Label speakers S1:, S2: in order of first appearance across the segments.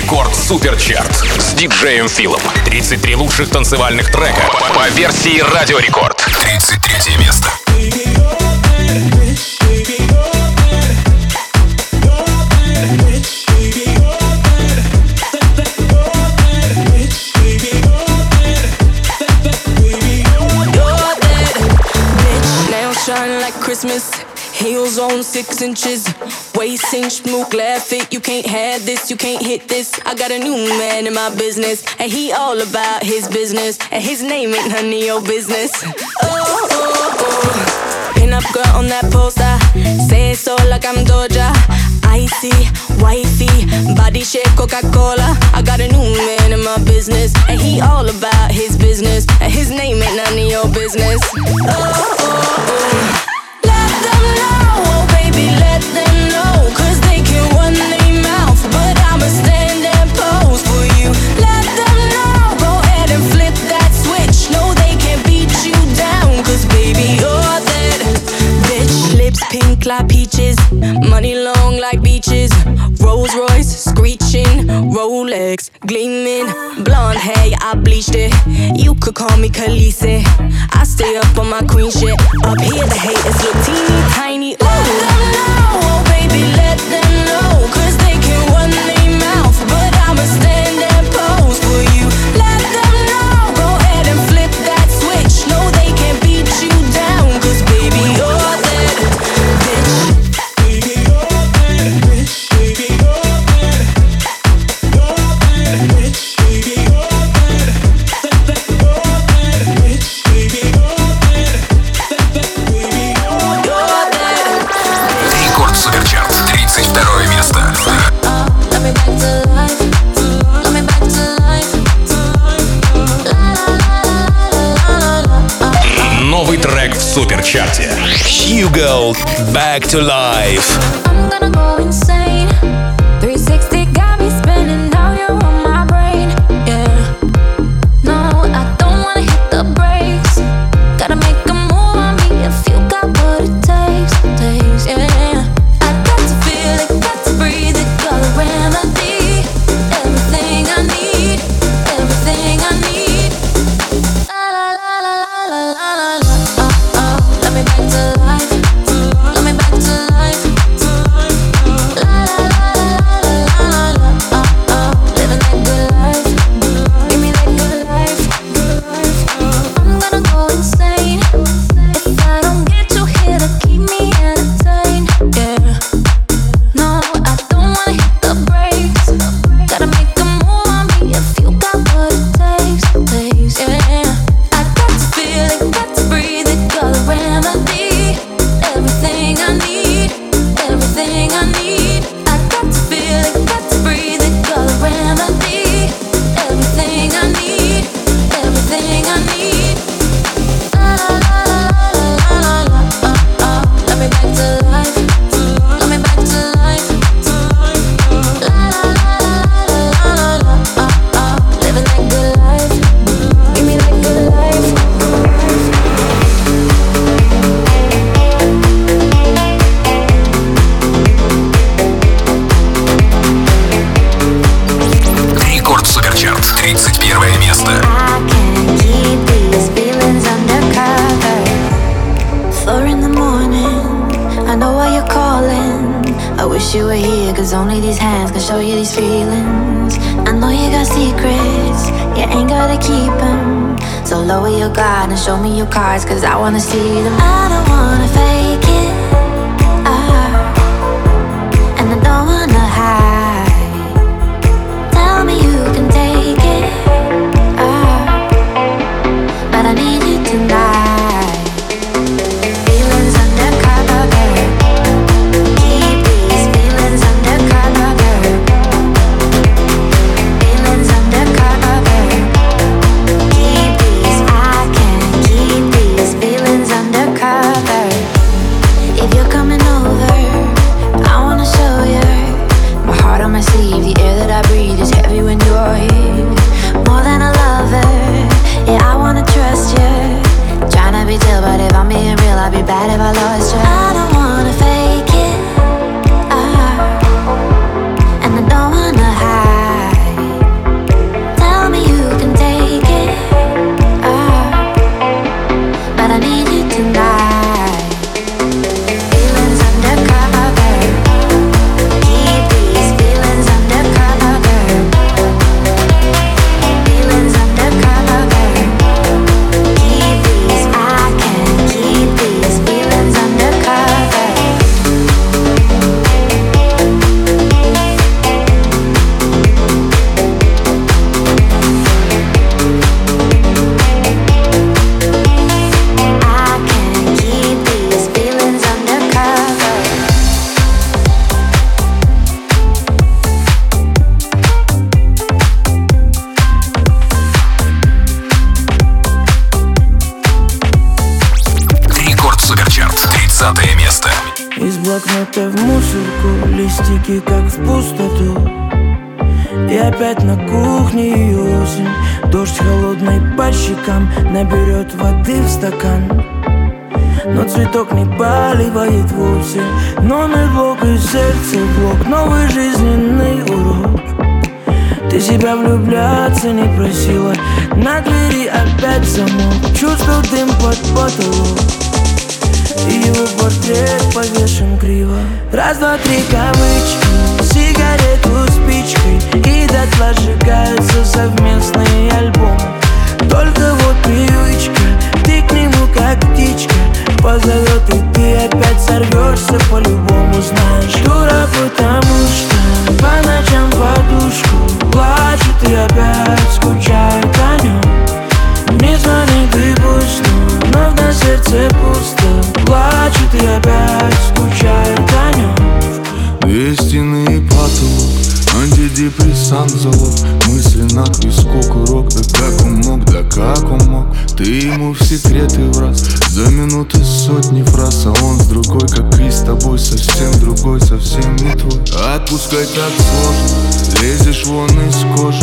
S1: Рекорд Суперчарт с диджеем Филом. 33 лучших танцевальных трека по версии Радио Рекорд. 33 место.
S2: Shine like Christmas, heels on 6 inches, waist cinch, smooth, glad fit. You can't have this, you can't hit this. I got a new man in my business, and he all about his business, and his name ain't none of your business. Oh, oh, oh. Pin up girl on that poster, say it so like I'm Doja. Icy, wifey, body shape Coca-Cola. I got a new man in my business, and he all about his business, and his name ain't none of your business. Oh, oh, oh. Let them know, oh baby, let them know, 'cause they can run their mouth, but I'ma stand and pose for you. Let them know, go ahead and flip that switch. No, they can't beat you down, 'cause baby, you're that bitch. Lips pink like peaches, money long like beaches, Rolls Royce screeching, Rolex gleaming, blonde hair, I bleached it. You could call me Khaleesi. I stay up on my queen shit. Up here the haters look teeny tiny. Ooh. Let them know, oh baby, let them know, 'cause they can run their mouth, but I'ma stand and pose for you. Let them know, go ahead and flip that switch. No, they can't beat you down, 'cause baby, you're that bitch. Baby, you're that bitch. Baby, you're that. You're that bitch. Baby, you're that. You're that bitch. Baby, you're that.
S1: Рекорд Суперчарт. 32 место. Новый трек в Суперчарте. Hugo Back to Life.
S3: I'm gonna go insane. 360 got me spinning, now you're on my brain. Yeah. No, I don't wanna hit the brakes. Gotta make a move on me if you got what it takes. Yeah. I got to feel it, got to breathe it, you're the remedy. Everything I need, everything I need. La la la la la la la la. Let me back to life. Let me back to life. La la la la la la la. Living that good life. Give me that good life. I'm gonna go insane if I don't get you here to keep me entertained. Yeah. No, I don't wanna hit the brakes. Gotta make a move on me if you got what it takes. Yeah. I got to feel it, got to breathe it, you're the remedy. Everything I need, everything I need. I got to feel it, got to breathe it, you're the remedy. Everything I need, everything I need. La la la la la la la. Let me back to life. Let me back to life. La la la la la la. Living that good life. Give me that good life.
S1: Рекорд Суперчарт. 31 место.
S3: I can't keep these feelings undercover. 4 in the morning, I know why you're calling. I wish you were here, 'cause only these hands can show you these feelings. I know you got secrets, you ain't gotta keep them. So lower your guard and show me your cards, 'cause I wanna see them. I don't wanna fake it, and I don't wanna hide. Tell me you can take it, but I need you tonight. Feelings undercover. Keep these feelings undercover. Feelings undercover. Keep these, I can't keep these feelings undercover.
S4: будто в мусорку, листики как в пустоту. И опять на кухне и осень, дождь холодный по щекам наберет воды в стакан. Но цветок не поливает вовсе. Номер блок и сердце блок, новый жизненный урок. Ты себя влюбляться не просила, на двери опять замок. Чувствую дым под потолок, и его портрет повешен криво. Раз, два, три, кавычки, сигарету спичкой, и дотла сжигаются совместные альбомы. Только вот привычка, ты к нему как птичка позовет, и ты опять сорвешься по-любому. Знаешь, дура, потому что по ночам подушку плачет и опять скучает о нем. Не звони, ты пусть, но на сердце пусто. Плачет и опять скучает о нем.
S5: Две стены и потолок, антидепрессант залог. Мысли на к виску курок, да как он мог. Ты ему в секреты враз, за минуты сотни фраз. А он с другой, как и с тобой, совсем другой, совсем не твой. Отпускать так сложно, лезешь вон из кожи.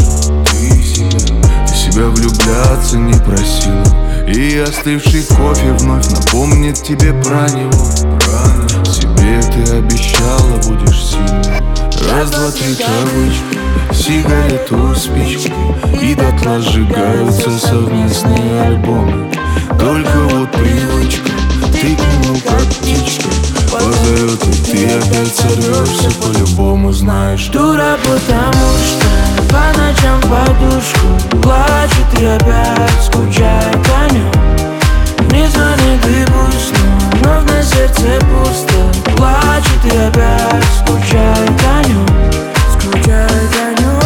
S5: Ты себя влюбляться не просила, и остывший кофе вновь напомнит тебе про него. Себе ты обещала, будешь сильной. Раз, два, три, кавычки, сигарету спички, и дотла сжигаются совместные альбомы. Только вот привычка, ты к нему как птичка позовет, и ты опять сорвешься по-любому. Знаешь,
S4: дура, потому что по ночам подушку плачет и опять скучает о нем. Не звони, ты пусть, но на сердце пусто. Плачет и опять скучает о нем. Скучает о нем.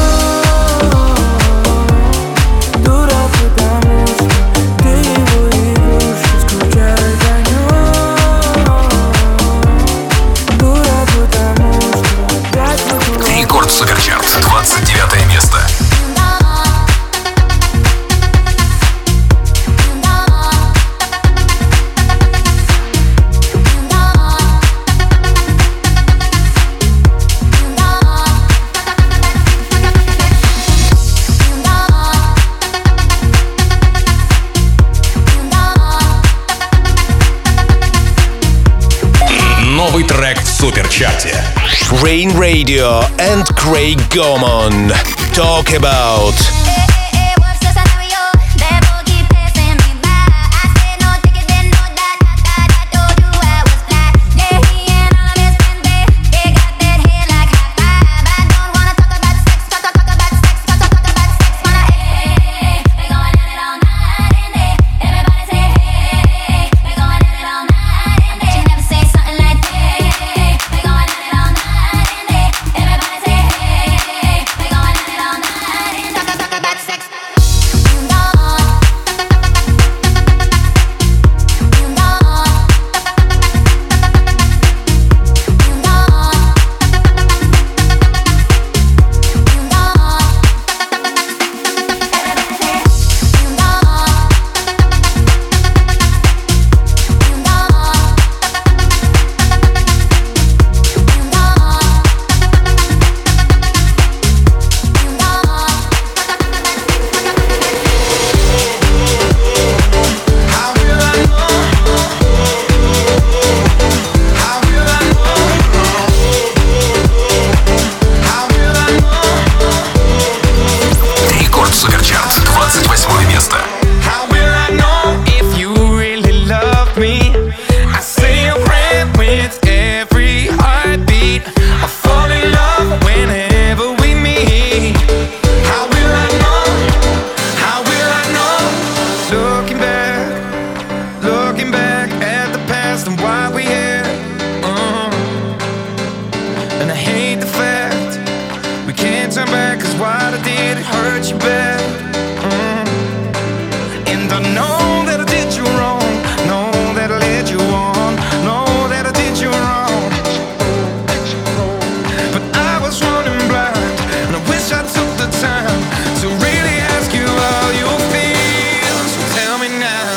S4: Дура, потому что ты его игрушка. Скучает о нем. Дура, потому что опять
S1: Рекорд Суперчарт, 29 место. Новый трек в Суперчарте.
S6: Rain Radio and Craig Gorman talk about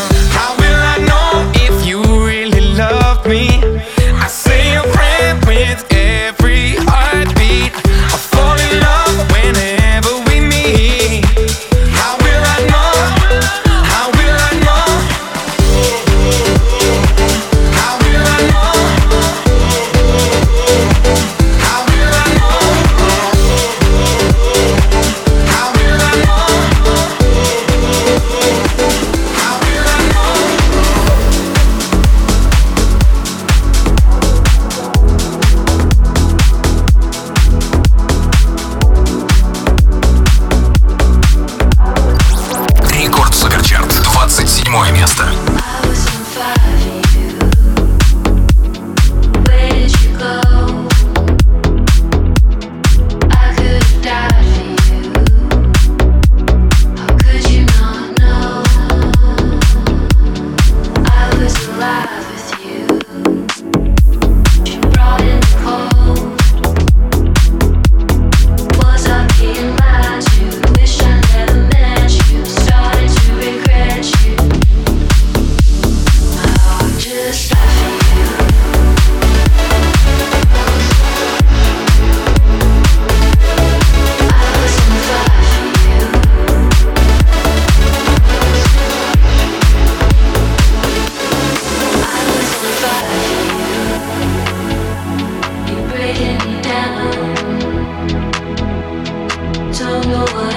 S7: I say a prayer when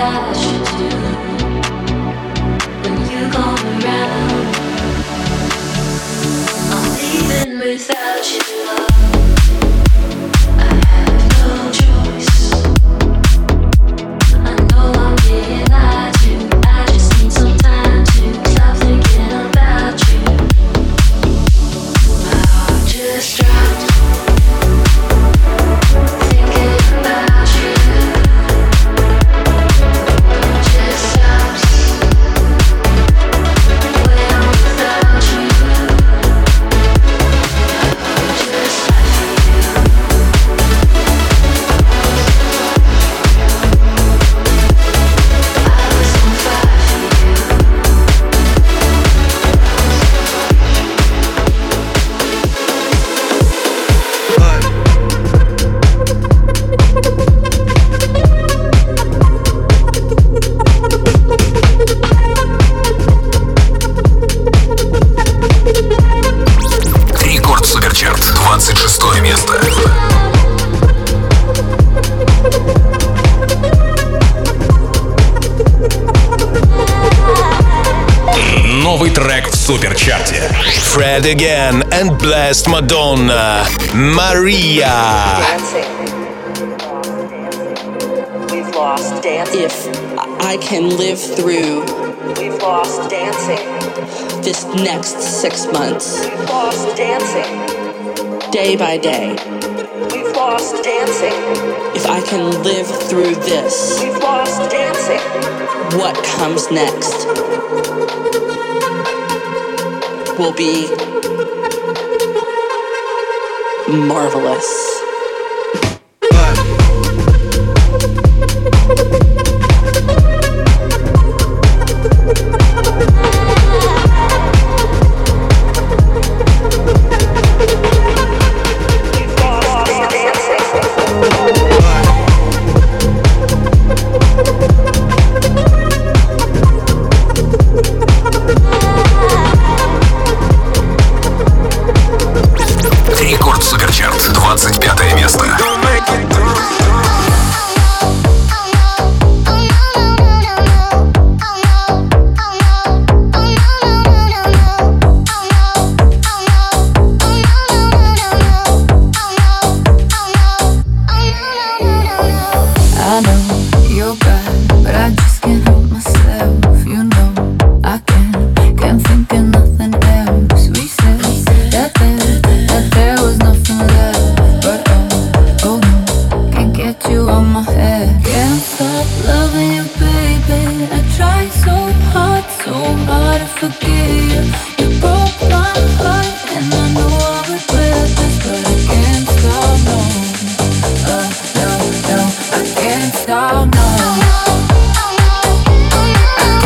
S3: I should do when you come around. I'm leaving without you. I have no choice. I know I'm being lied to. I just need some time to stop thinking about you. My heart just dropped. Thinking about you. Just stops when I'm without you. My heart just stops for you. I was on fire for you.
S1: Рекорд Суперчарт, 26 место. Новый трек в Суперчарте.
S6: Fred again and Blessed Madonna, Maria.
S7: We've lost dancing.
S8: If I can live through
S7: We've lost dancing.
S8: this next 6 months,
S7: We've lost dancing.
S8: day by day,
S7: We've lost dancing.
S8: if I can live through this,
S7: We've lost dancing.
S8: what comes next will be marvelous.
S7: We've lost dancing.
S1: Рекорд Суперчарт, 25 место.
S3: I know you're bad, but I just can't help myself. You know I can't think of nothing else. We said that there was nothing left, but oh no, can't get you on my head. Can't stop loving you, baby. I try so hard to forget you. You broke my heart, and I know I regret this, but I can't stop, no. No, I can't stop, no. I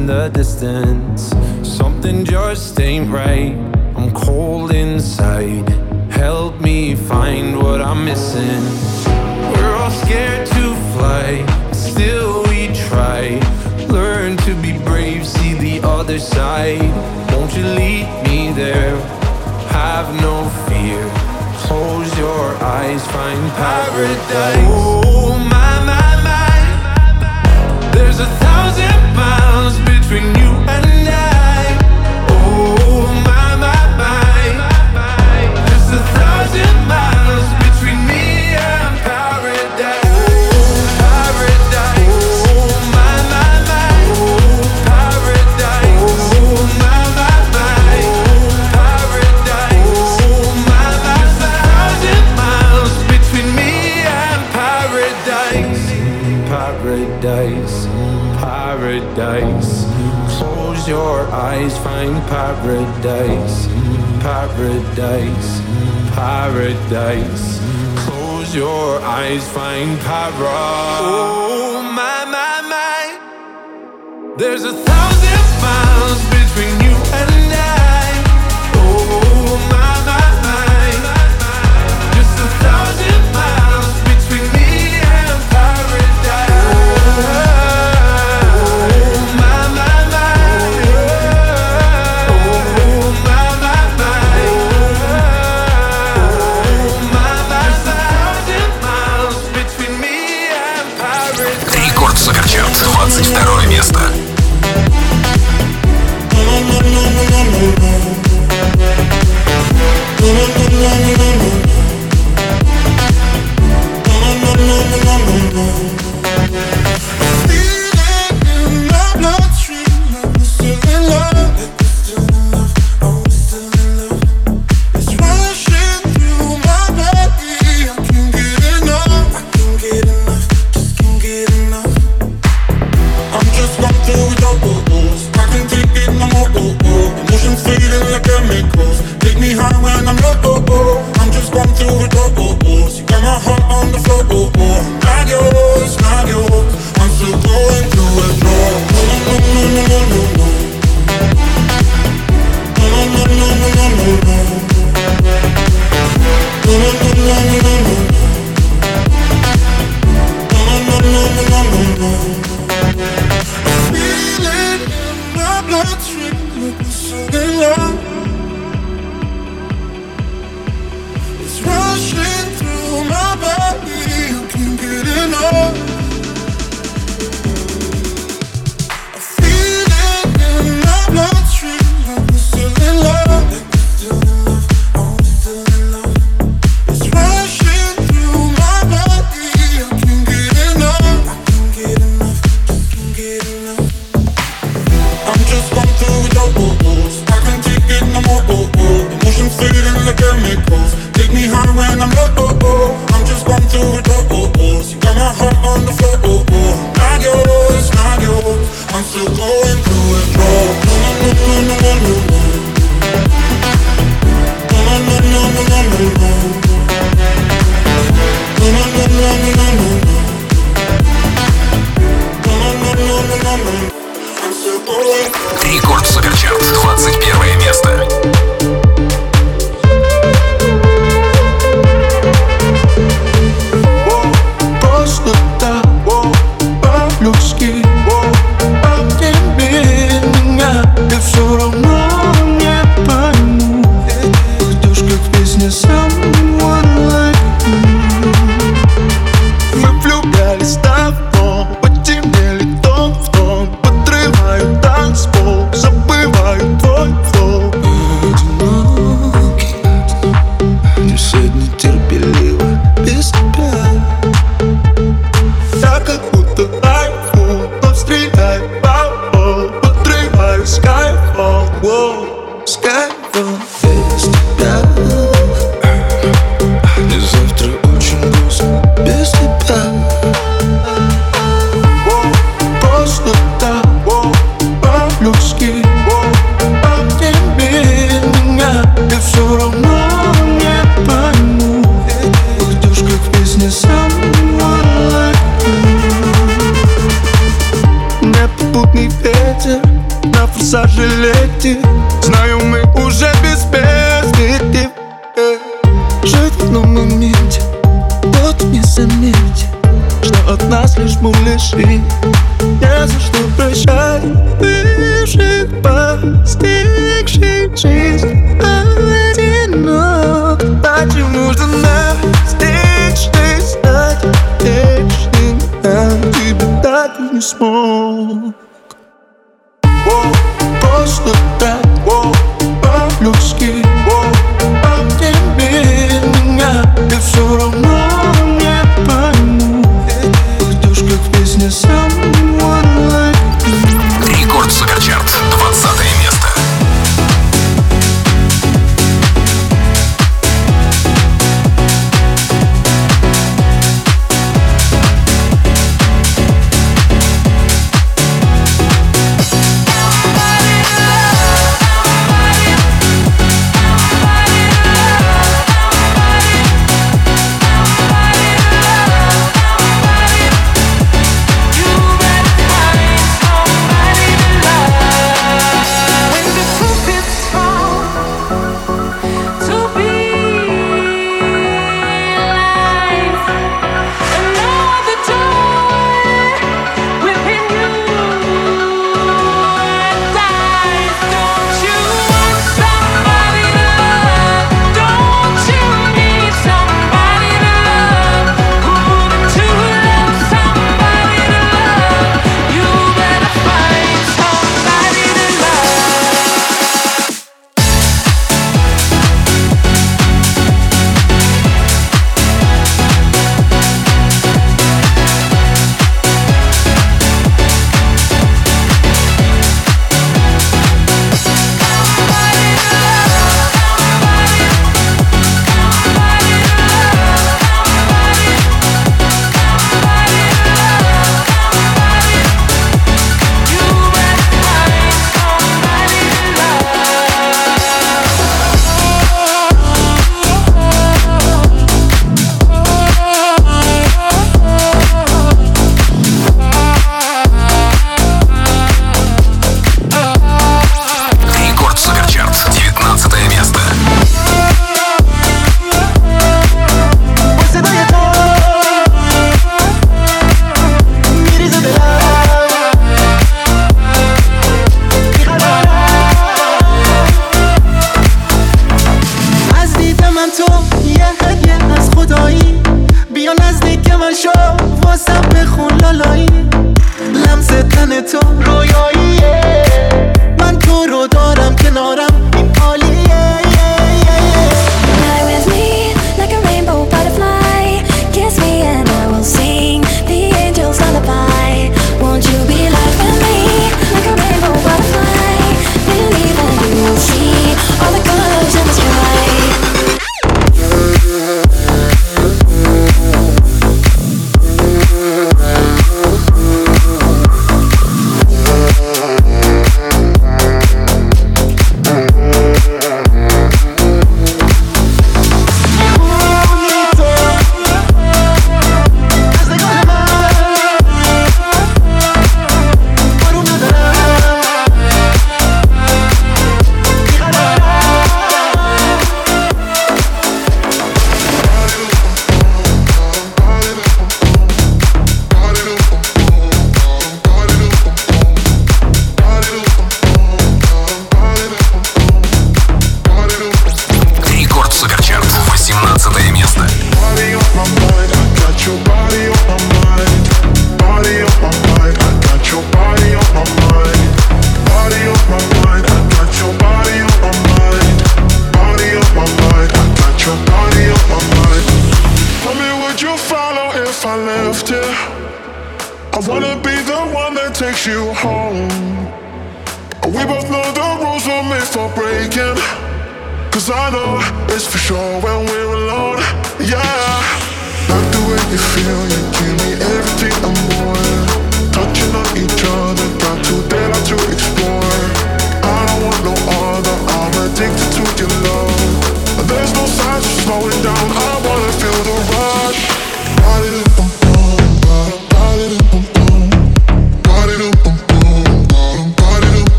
S9: in the distance. Something just ain't right. I'm cold inside. Help me find what I'm missing. We're all scared to fly, still we try. Learn to be brave, see the other side. Won't you lead me there? Have no fear. Close your eyes, find paradise. Oh my, my, my. There's 1,000 miles between you and I. Oh my, my, my. Just 1,000 miles between me and paradise. Oh, paradise. Oh my, my, my. Oh, paradise. Oh my, my, my. Oh, paradise. Oh my, my, my. 1,000 miles between me and paradise. Paradise. Paradise. Close your eyes, find paradise. Paradise. Paradise. Close your eyes, find paradise. Oh my, my, my. There's 1,000 miles between you and I. Oh my, my, my. Just 1,000 miles between me and paradise.
S1: Рекорд Суперчарт, 22 место. Рекорд Суперчарт, 21 место.
S10: Nepotný
S5: ветер на форсаже летит. Знаю, мы уже без перспектив. Жить в одном моменте, вот не заметь, что от нас лишь муляжи. Не за что прощай бывших, постигших жизнь одинок. Зачем нужно настичь, стать вечным? Я тебя так и не смог. Просто так, по-людски. Обними меня, ты все равно не пойму. Уйдешь, как в песне Someone Like You.
S1: Рекорд Суперчарт, 20 место.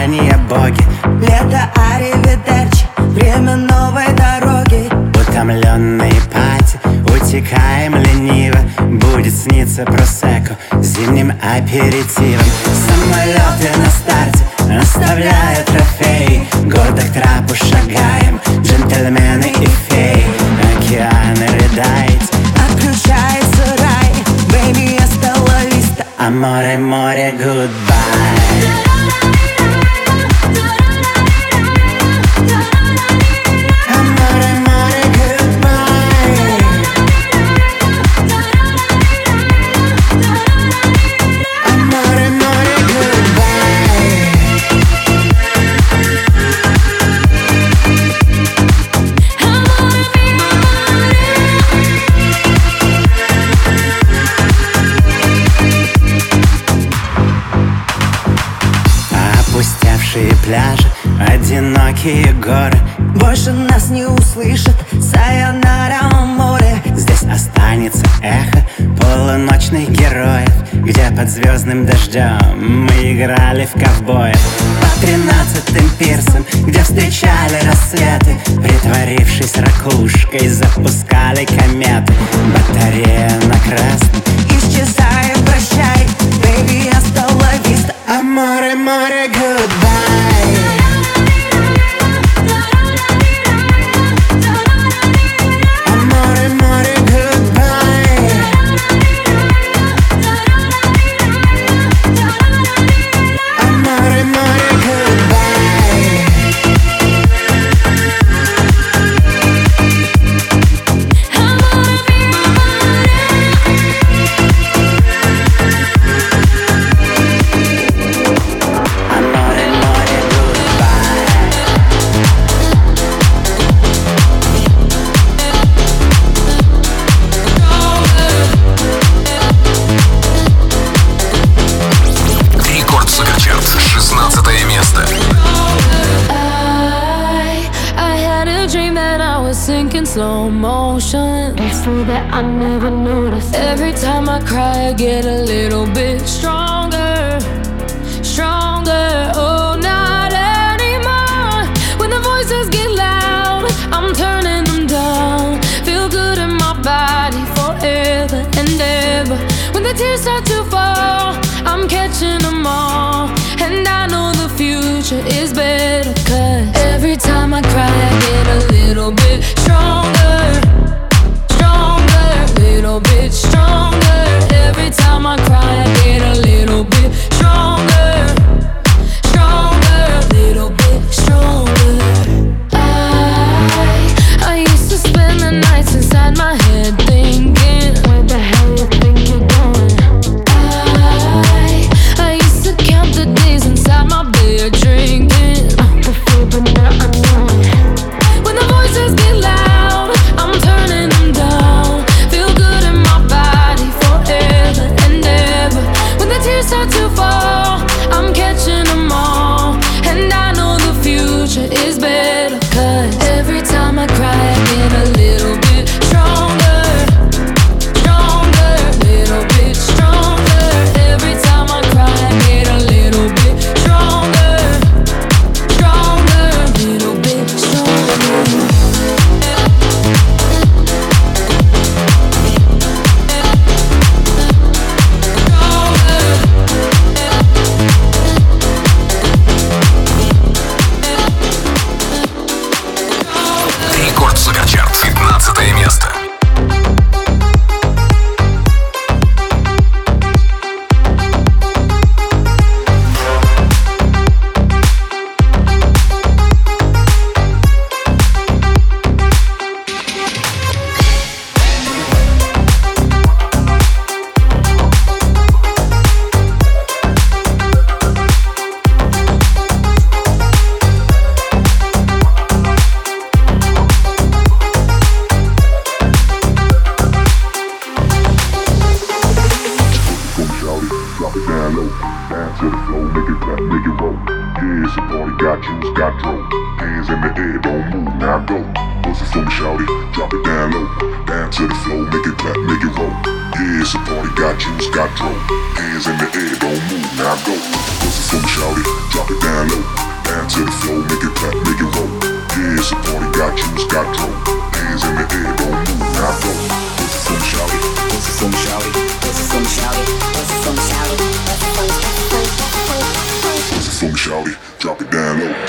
S10: желания боги.
S4: Лето, аривидерчи, время новой дороги.
S10: Утомленные пати, утекаем лениво. Будет сниться просекко зимним аперитивом. Самолеты на старте оставляют трофеи. Гордо к трапу шагаем, джентльмены и феи. Океаны рыдает,
S4: отключается рай. Baby, hasta la vista.
S10: Аморе, море, goodbye. Пляжи, одинокие горы.
S4: Больше нас не услышат, сайонара море.
S10: Здесь останется эхо полуночных героев, где под звездным дождем мы играли в ковбоев. По 13-м пирсам, где встречали рассветы, притворившись ракушкой, запускали кометы. Батарея на красном,
S4: исчезая, прощай. Baby, hasta la vista.
S10: Аморе, море, goodbye.
S3: Slow motion, it's true that I never noticed. Every time I cry, I get a little bit stronger, stronger. Oh, not anymore. When the voices get loud, I'm turning them down. Feel good in my body forever and ever. When the tears start to fall, I'm catching them all. And I know the future is better, 'cause every time I cry, I get a little bit stronger, stronger, little bit stronger. Every time I cry, I get a little bit stronger, stronger, little bit stronger. I used to spend the nights inside my head thinking, where the hell you think you're going? I used to count the days inside my bed drinking the food, but now I know it. When the voices get loud, I'm turning them down. Feel good in my body forever and ever. When the tears start to fall, I'm catching them all. And I know the future is better, 'cause every time I cry, I get a little bit stronger, stronger, little bit stronger. Every time I cry, I get a little bit stronger, stronger, little bit stronger.
S11: Hands in the air, don't move, now go. Bust it for me, shawty, drop it down low. Down to the floor, make it clap, make it roll. Yeah, it's a party, got juice, got dro. Hands in the air, don't move, now go. Bust it for me, shawty, drop it down low. Down to the floor, make it clap, make it roll. Yeah, it's a party, got juice, got dro. Hands in the air, don't move, now go. Bust it for me, shawty, bust it for me, shawty, bust it for me, shawty, bust it for me, shawty, bust it for me, shawty, drop it down low.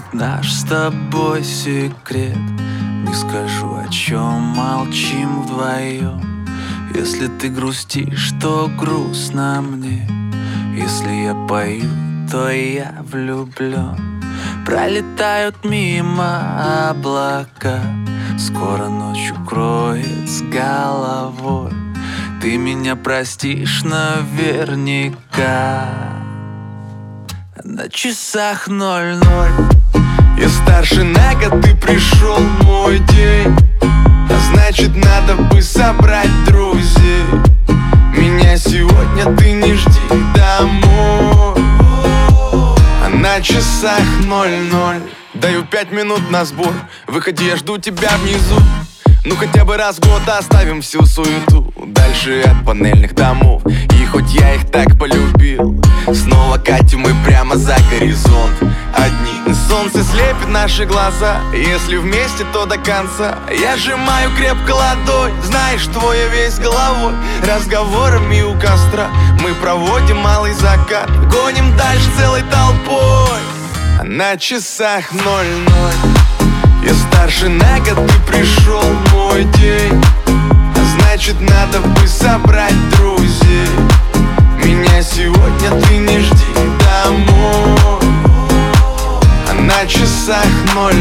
S5: наш с тобой секрет. Не скажу, о чем молчим вдвоем. Если ты грустишь, то грустно мне. Если я пою, то я влюблен. Пролетают мимо облака, скоро ночь укроет с головой. Ты меня простишь наверняка. На часах 00. Я старше на год, ты пришел мой день. А значит, надо бы собрать друзей. Меня сегодня ты не жди домой. А на часах 00. Даю 5 минут на сбор. Выходи, я жду тебя внизу. Ну хотя бы раз в год оставим всю суету дальше от панельных домов. И хоть я их так полюбил, снова катим мы прямо за горизонт. Одни солнце слепит наши глаза. Если вместе, то до конца. Я сжимаю крепко ладонь, знаешь, твоя весь головой. Разговорами у костра мы проводим малый закат. Гоним дальше целой толпой. А на часах 00. Я старше на год, ты пришел мой день. А значит, надо бы собрать друзей. Меня сегодня ты не жди домой. А на часах 00.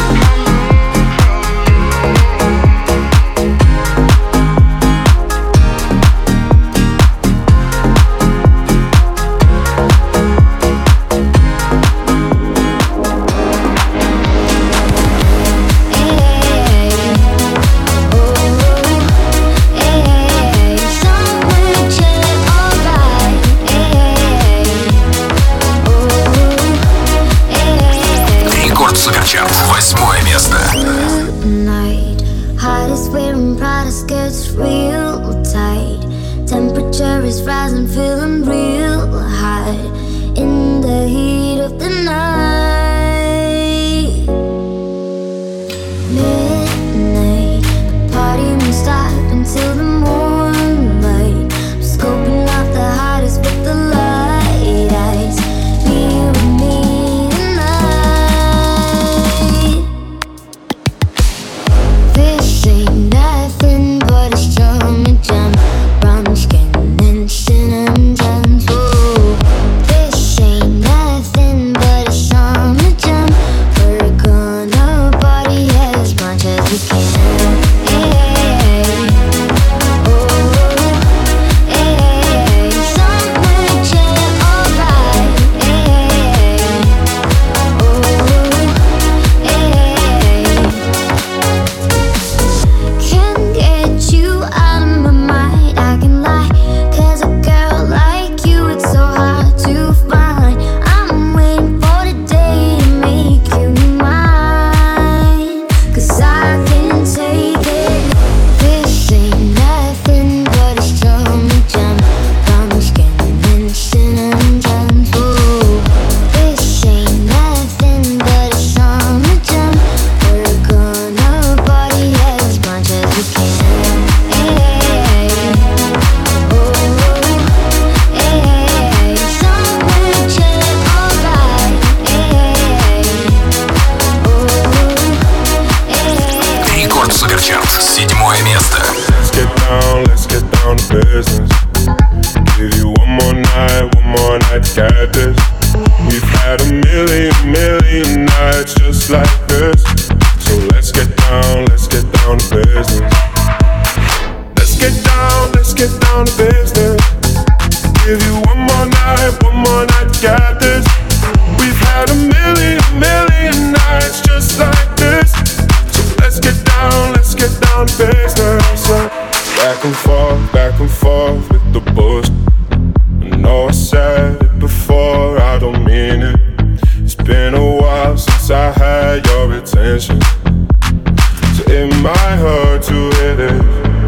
S1: Суперчарт, 8 место.
S3: Heart is wearing Prada skirts real tight. Temperature is rising, feeling real hot in the heat of the night. Midnight, the party won't stop until the moonlight. I'm scoping out the hottest with the light eyes. Me with me. Nothing but a strawberry jam, brown skin and cinnamon jams. Ooh, this ain't nothing but a strawberry jam. We're gonna party as much as we can. Hey, oh, hey, summer chill, alright. Hey, oh, hey. Can't get you out of my mind, I can lie. Cause a girl like you, it's so hard to find. I'm waiting for the day to make you mine. Cause I can't take it. This ain't nothing but a strawberry jam, brown skin and cinnamon jams. Ooh, this ain't nothing but a strawberry jam. We're gonna party as much as we can. Hey, oh, hey, somewhere chill, alright. Hey, oh, hey.
S1: Рекорд Суперчарт, 7 место.
S12: Let's get down to business. Give you one more night to get this. We've had a million nights just like this. So let's get down to business. Let's get down to business. Give you one more night to get this. We've had a million nights just like this. So let's get down to business. Back and forth with the bullshit. I know I said it before, I don't mean it. It's been a while since I had your attention, so it might hurt to hit it.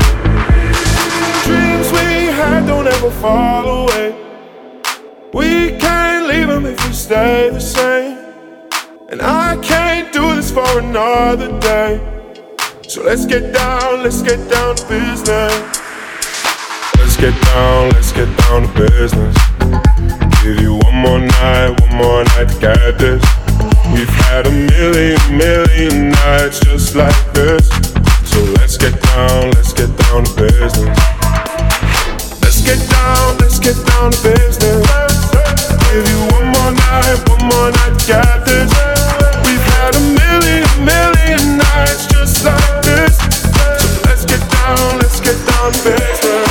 S12: Dreams we had don't ever fall away. We can't leave them if we stay the same. And I can't do this for another day. So let's get down to business. Let's get down to business. Give you one more night to get this. We've had a million nights just like this. So let's get down to business. Let's get down to business. Give you one more night, got this. We've had a million nights just like this. So let's get down to business.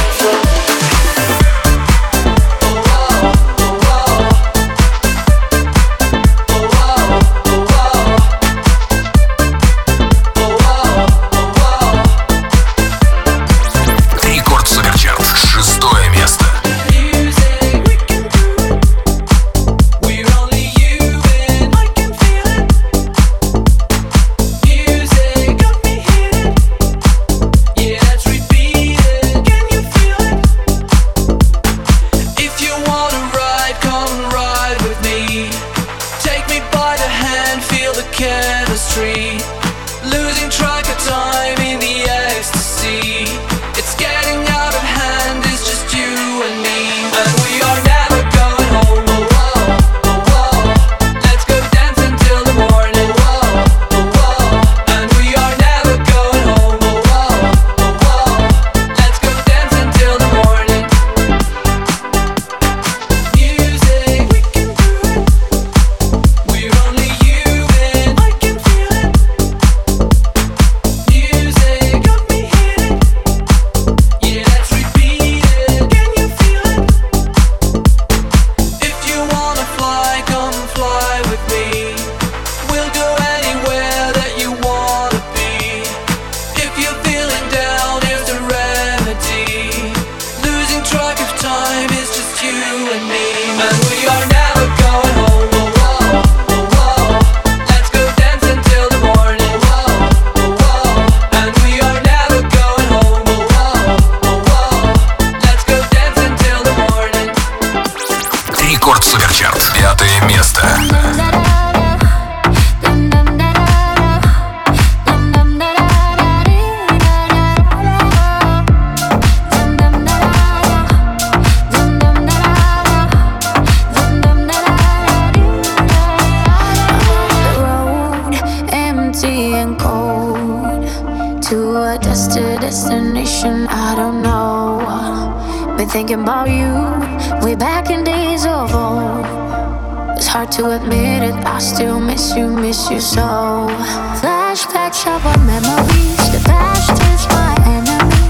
S3: Thinking about you, way back in days of old. It's hard to admit it, I still miss you so. Flashbacks of our memories, the past is my enemy,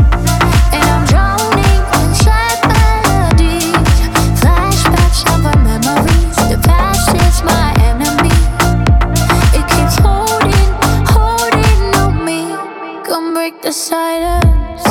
S3: and I'm drowning in sad melodies. Flashbacks of our memories, the past is my enemy. It keeps holding on me. Come break the silence.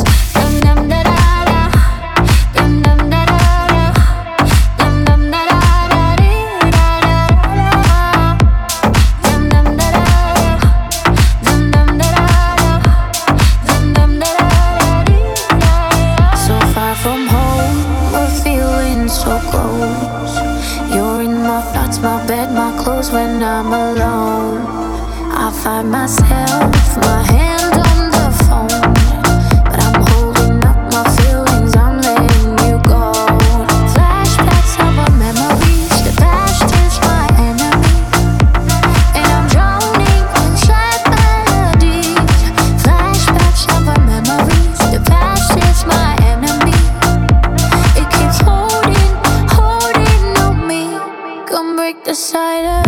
S3: When I'm alone, I find myself, my hand on the phone, but I'm holding up my feelings, I'm letting you go. Flashbacks of our memories, the past is my enemy, and I'm drowning in sad melodies. Flashbacks of our memories, the past is my enemy. It keeps holding on me. Come break the silence.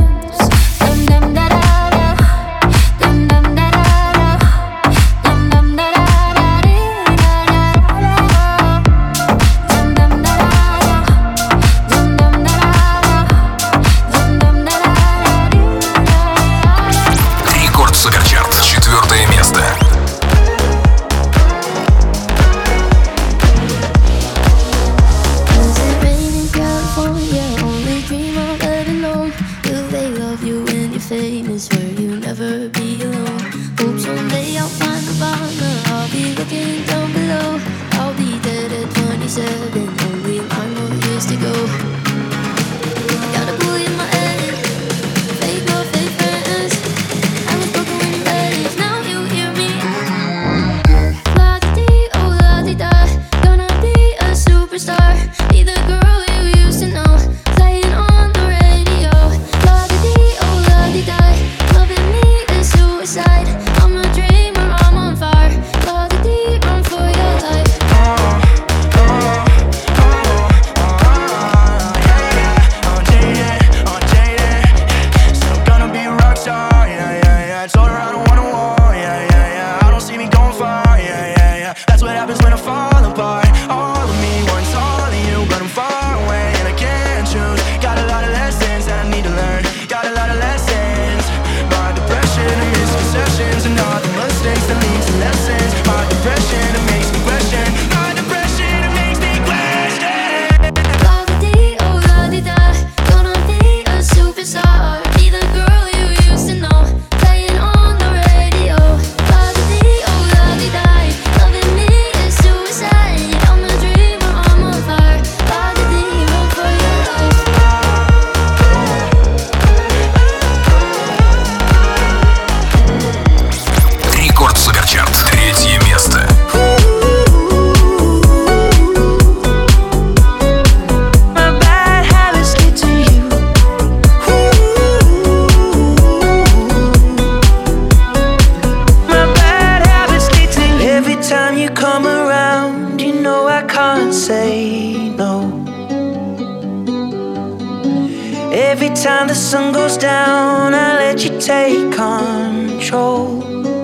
S4: Every time the sun goes down, I let you take control.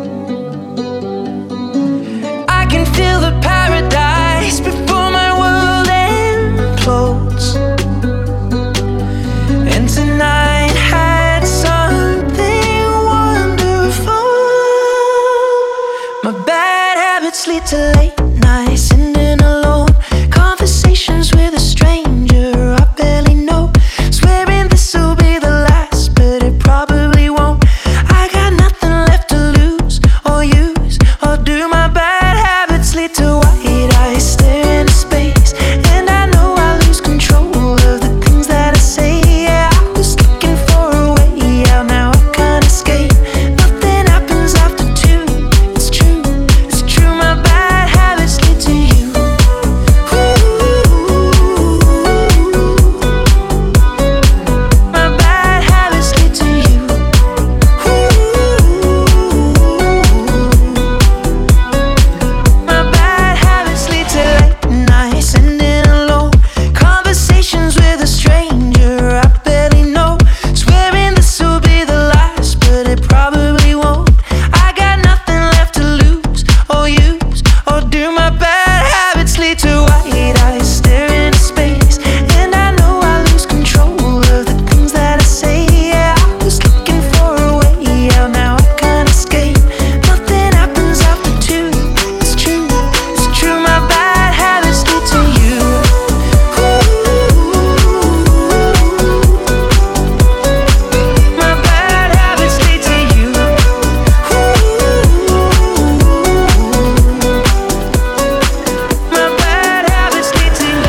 S4: I can feel the paradise before my world implodes. And tonight had something wonderful. My bad habits lead to late nights, sitting alone, conversations with a stranger I barely know. Swearing this will be the last, but it probably won't. I got nothing left to lose or use or do. My bad habits lead to white eyes stare into space, and I know I lose control of the things that I say. Yeah, I was looking for a way out, now I can't escape. Nothing happens after two. It's true, it's true. My bad habits lead to you. My bad habits lead to you. My bad habits lead to late nights, sitting alone, conversations with a stranger I barely know. Swearing this will be the last, but it probably won't. I got nothing left to lose or use or do. My bad habits lead to white eyes stare into space, and I know I lose control of the things that I say. Yeah, I was looking for a way out, now I can't escape. Nothing happens after two. It's true, it's true. My bad habits lead to you. My bad habits lead to you. My bad habits lead to you.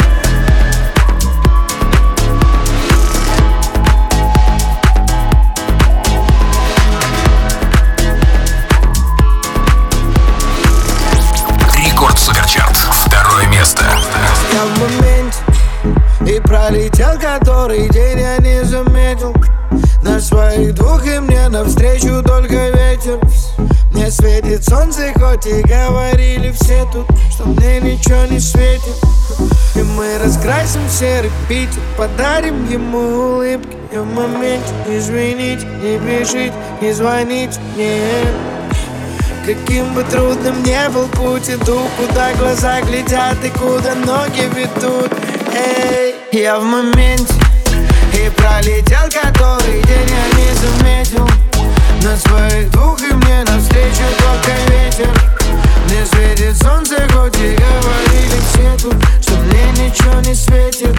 S1: Рекорд Суперчарт. Второе место.
S13: Я в моменте и пролетел который день, я не заметил. На своих двух и мне навстречу только ветер. Мне светит солнце, хоть и говорили все тут, что мне ничего не светит. И мы раскрасим серый Питер, подарим ему улыбки. Я в моменте, извините, не бежите, не звоните мне. Каким бы трудным ни был путь, иду, куда глаза глядят и куда ноги ведут. Эй, я в моменте и пролетел который день, я не заметил. На своих двух и мне навстречу только ветер. Мне светит солнце, хоть и говорили все тут, что мне ничего не светит.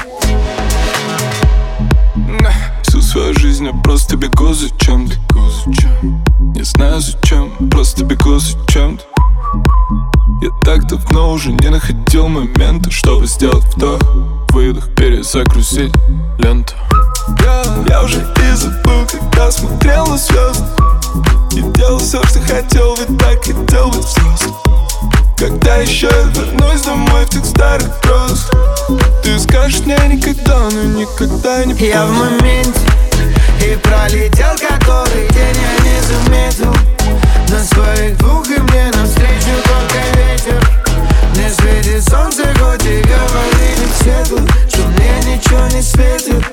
S5: Всю свою жизнь я просто бегу за чем-то. Не знаю зачем, просто бегу за чем-то. Я так давно уже не находил момента, чтобы сделать вдох, выдох, перезагрузить ленту. Я уже и забыл, когда смотрел на звезды, и делал все, что хотел, ведь так хотел быть взрослым. Когда еще я вернусь домой в тех старых грозах, ты скажешь мне никогда, но никогда не поздно.
S13: Я в моменте и пролетел который день, я не заметил. На своих двух и мне навстречу только ветер. Мне светит солнце, хоть и говорили все тут, что мне ничего не светит.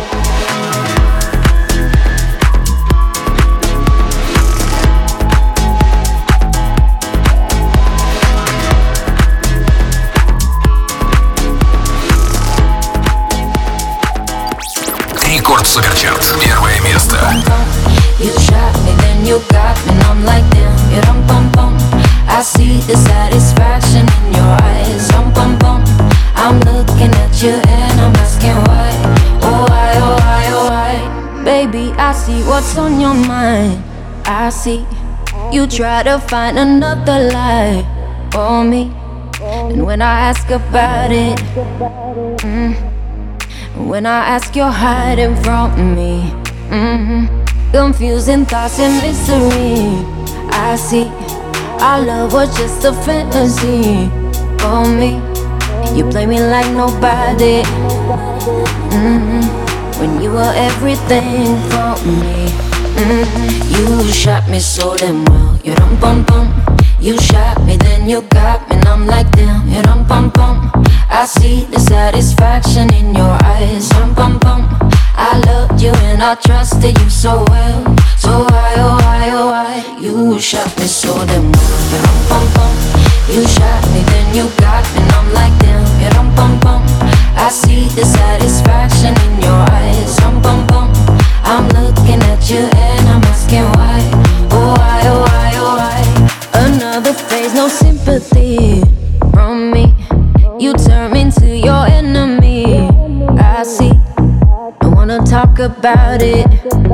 S1: Рекорд Суперчарт. Первое место.
S3: You shot me, then you got me, and I'm like damn, you dum bum bum. I see the satisfaction in your eyes, dum bum bum. I'm looking at you and I'm asking why, oh why, oh why, oh why. Baby, I see what's on your mind. I see you try to find another lie for me, and when I ask about it, when I ask, you're hiding from me. Confusing thoughts and mystery. I see our love was just a fantasy for me. You play me like nobody. When you were everything for me. You shot me so damn well. You dum bum bum. You shot me, then you got me, and I'm like damn. You dum bum bum. I see the satisfaction in your eyes. Dum bum bum. I love and I trusted you so well. So why, oh why, oh why, you shot me so damn well. Pum pum, you shot me, then you got me, and I'm like damn. Pum pum, I see the satisfaction in your eyes. Pum pum, I'm looking at you and I'm asking why. Oh why, oh why, oh why. Another phase, no sympathy from me. You turn me into your enemy. I see, don't wanna talk about it.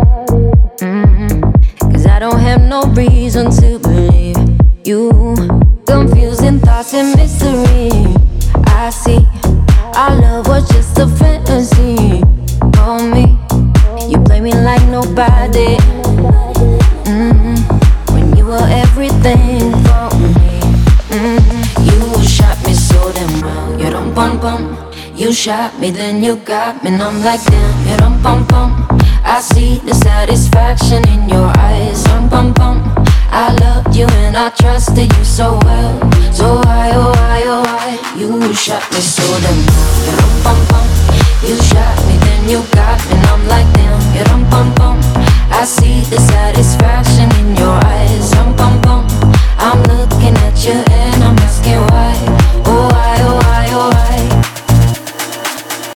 S3: Cause I don't have no reason to believe you. Confusing thoughts and mystery. I see, our love was just a fantasy. For me, you play me like nobody. When you were everything for me. You shot me so damn well. You don't bum bum. You shot me, then you got me, and I'm like damn. You don't bum bum. I see the satisfaction in your eyes. Bum bum. I loved you and I trusted you so well. So why, oh why, oh why, you shot me so damn well. You don't bum bum. You shot me, then you got me, and I'm like damn. You don't bum bum. I see the satisfaction